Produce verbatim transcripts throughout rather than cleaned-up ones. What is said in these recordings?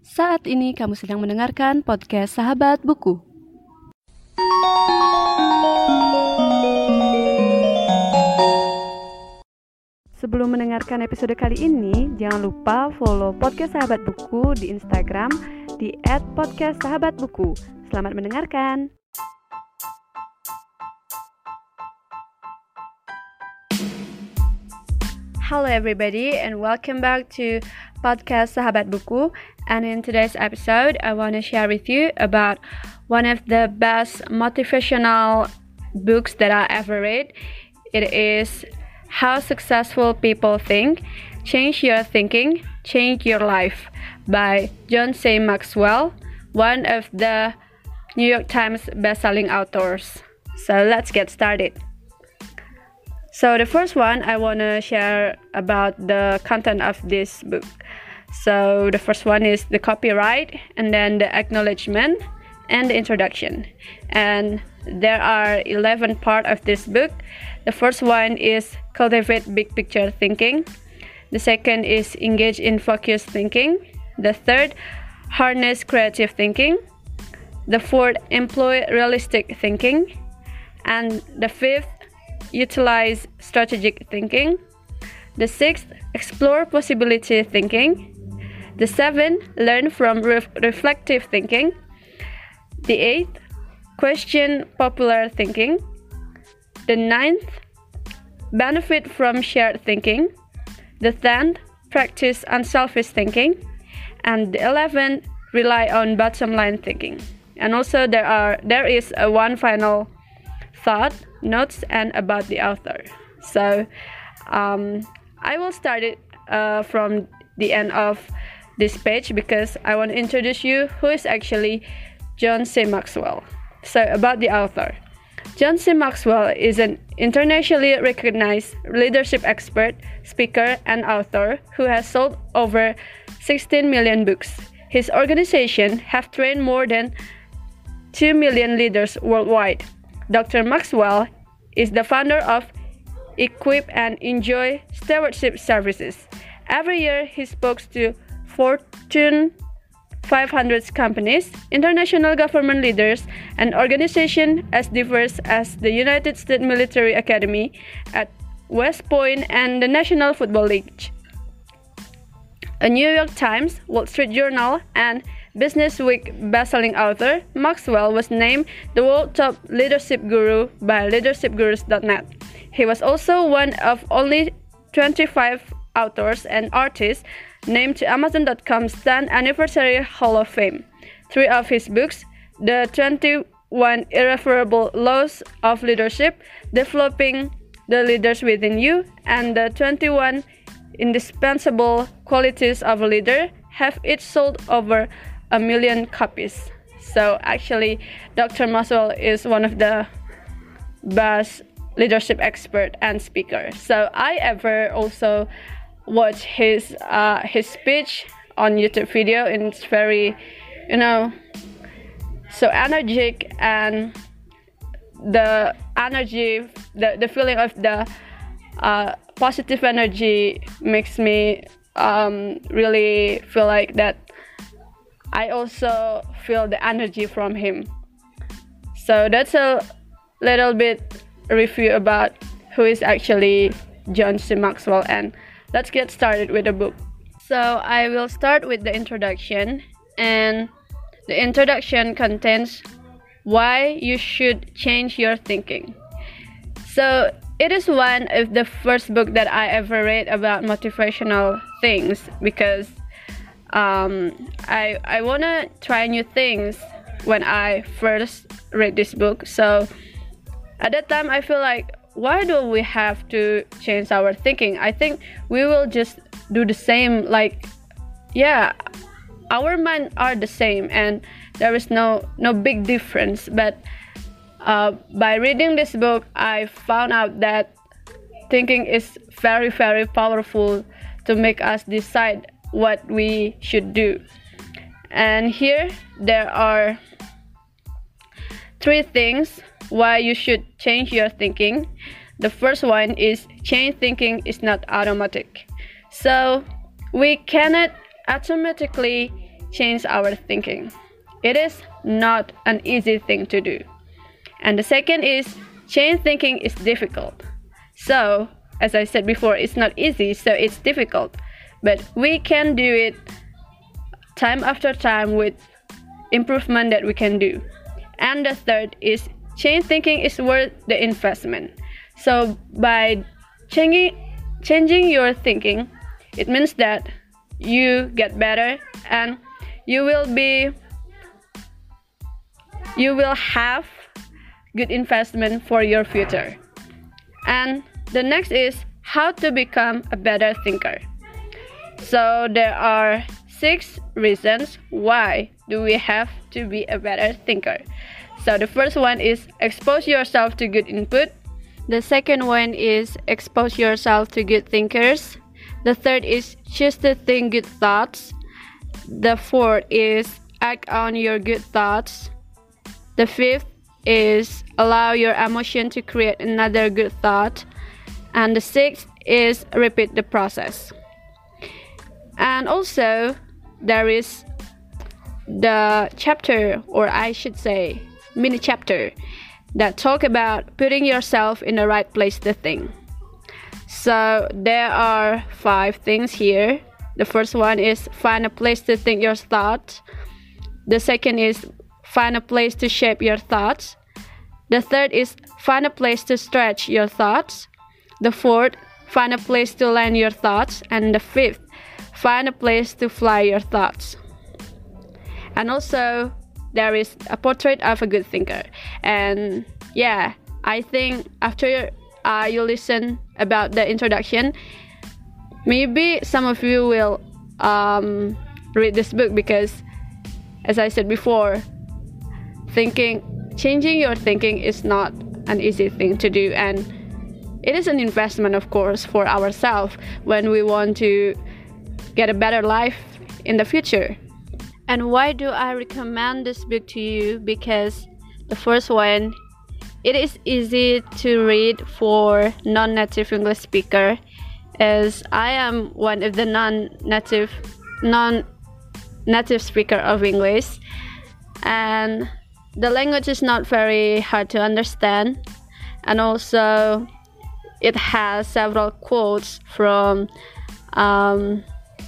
Saat ini kamu sedang mendengarkan podcast Sahabat Buku. Sebelum mendengarkan episode kali ini, jangan lupa follow podcast Sahabat Buku di Instagram di et podcast sahabat buku. Selamat mendengarkan. Hello everybody and welcome back to podcast Sahabat Buku. And in today's episode, I want to share with you about one of the best motivational books that I ever read. It is How Successful People Think, Change Your Thinking, Change Your Life by John C. Maxwell, one of the New York Times best-selling authors. So let's get started. So the first one, I want to share about the content of this book. So the first one is the copyright, and then the acknowledgement, and the introduction. And there are eleven parts of this book. The first one is cultivate big picture thinking. The second is engage in focused thinking. The third, harness creative thinking. The fourth, employ realistic thinking. And the fifth, utilize strategic thinking. The sixth, explore possibility thinking. The seventh, learn from ref- reflective thinking. The eighth, question popular thinking. The ninth, benefit from shared thinking. The tenth, practice unselfish thinking. And the eleventh, rely on bottom line thinking. And also there are there is a one final thought, notes, and about the author. So um, I will start it uh, from the end of this page because I want to introduce you who is actually John C. Maxwell. So about the author. John C. Maxwell is an internationally recognized leadership expert, speaker, and author who has sold over sixteen million books. His organization have trained more than two million leaders worldwide. Doctor Maxwell is the founder of Equip and Enjoy Stewardship Services. Every year, he speaks to Fortune five hundred companies, international government leaders, and organizations as diverse as the United States Military Academy at West Point and the National Football League. A New York Times, Wall Street Journal, and Business Week bestselling author, Maxwell was named the world top leadership guru by leadership gurus dot net. He was also one of only twenty-five authors and artists named to Amazon dot com's tenth Anniversary Hall of Fame. Three of his books, the twenty-one Irreversible Laws of Leadership, Developing the Leaders Within You, and the twenty-one Indispensable Qualities of a Leader, have each sold over a million copies. So actually, Doctor Maxwell is one of the best leadership expert and speaker. So I ever also watch his uh, his speech on YouTube video, and it's very, you know, so energetic, and the energy, the, the feeling of the uh, positive energy makes me um, really feel like that I also feel the energy from him. So that's a little bit review about who is actually John C. Maxwell, and let's get started with the book. So I will start with the introduction, and the introduction contains why you should change your thinking. So it is one of the first book that I ever read about motivational things because um, I I wanna try new things when I first read this book. So at that time I feel like, why do we have to change our thinking? I think we will just do the same, like, yeah, our minds are the same and there is no no big difference. But uh, by reading this book, I found out that thinking is very, very powerful to make us decide what we should do. And here there are three things why you should change your thinking. The first one is change thinking is not automatic. So we cannot automatically change our thinking. It is not an easy thing to do. And the second is change thinking is difficult. So, as I said before, it's not easy, so it's difficult. But we can do it time after time with improvement that we can do. And the third is change thinking is worth the investment. So by changing changing your thinking, it means that you get better and you will be you will have good investment for your future. And the next is how to become a better thinker. So there are six reasons why do we have to be a better thinker. So the first one is expose yourself to good input. The second one is expose yourself to good thinkers. The third is choose to think good thoughts. The fourth is act on your good thoughts. The fifth is allow your emotion to create another good thought. And the sixth is repeat the process. And also there is the chapter, or I should say mini chapter, that talk about putting yourself in the right place to think. So there are five things here. The first one is find a place to think your thoughts. The second is find a place to shape your thoughts. The third is find a place to stretch your thoughts. The fourth, find a place to land your thoughts. And the fifth, find a place to fly your thoughts. And also there is a portrait of a good thinker. And yeah, I think after uh, you listen about the introduction, maybe some of you will um, read this book, because as I said before, thinking changing your thinking is not an easy thing to do, and it is an investment, of course, for ourselves when we want to get a better life in the future. And why do I recommend this book to you? Because the first one, it is easy to read for non-native English speaker, as I am one of the non-native non-native speaker of English, and the language is not very hard to understand, and also it has several quotes from um,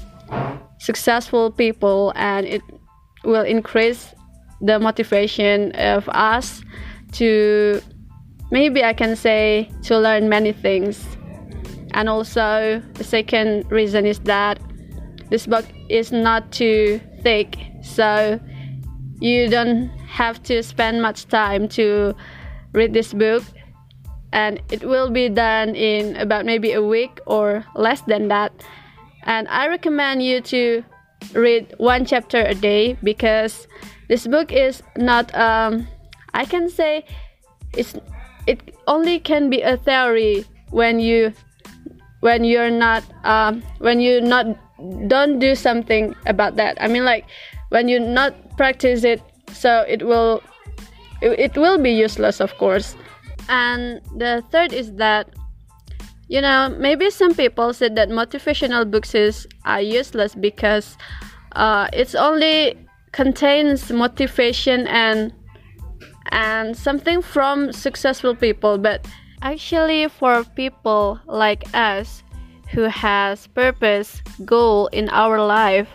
successful people, and it will increase the motivation of us to, maybe I can say, to learn many things. And also the second reason is that this book is not too thick, so you don't have to spend much time to read this book, and it will be done in about maybe a week or less than that. And I recommend you to read one chapter a day, because this book is not um, I can say it's it only can be a theory when you when you're not um, when you not don't do something about that. I mean, like when you not practice it, so it will it, it will be useless, of course. And the third is that, you know, maybe some people said that motivational books is are useless because uh, it's only contains motivation and and something from successful people. But actually, for people like us who has purpose, goal in our life,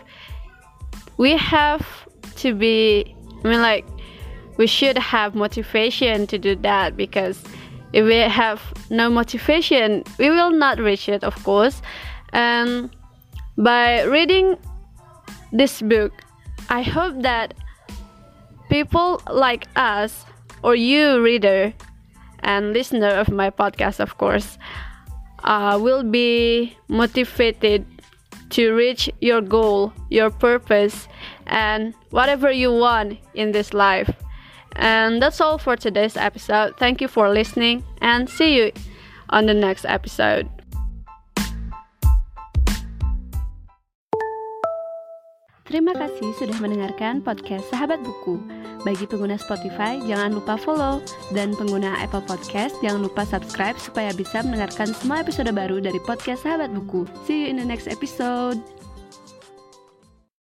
we have to be, I mean, like, we should have motivation to do that, because if we have no motivation, we will not reach it, of course. And by reading this book, I hope that people like us, or you reader and listener of my podcast, of course, uh, will be motivated to reach your goal, your purpose, and whatever you want in this life. And that's all for today's episode. Thank you for listening, and see you on the next episode. Terima kasih sudah mendengarkan podcast Sahabat Buku. Bagi pengguna Spotify, jangan lupa follow. Dan pengguna Apple Podcast, jangan lupa subscribe supaya bisa mendengarkan semua episode baru dari podcast Sahabat Buku. See you in the next episode.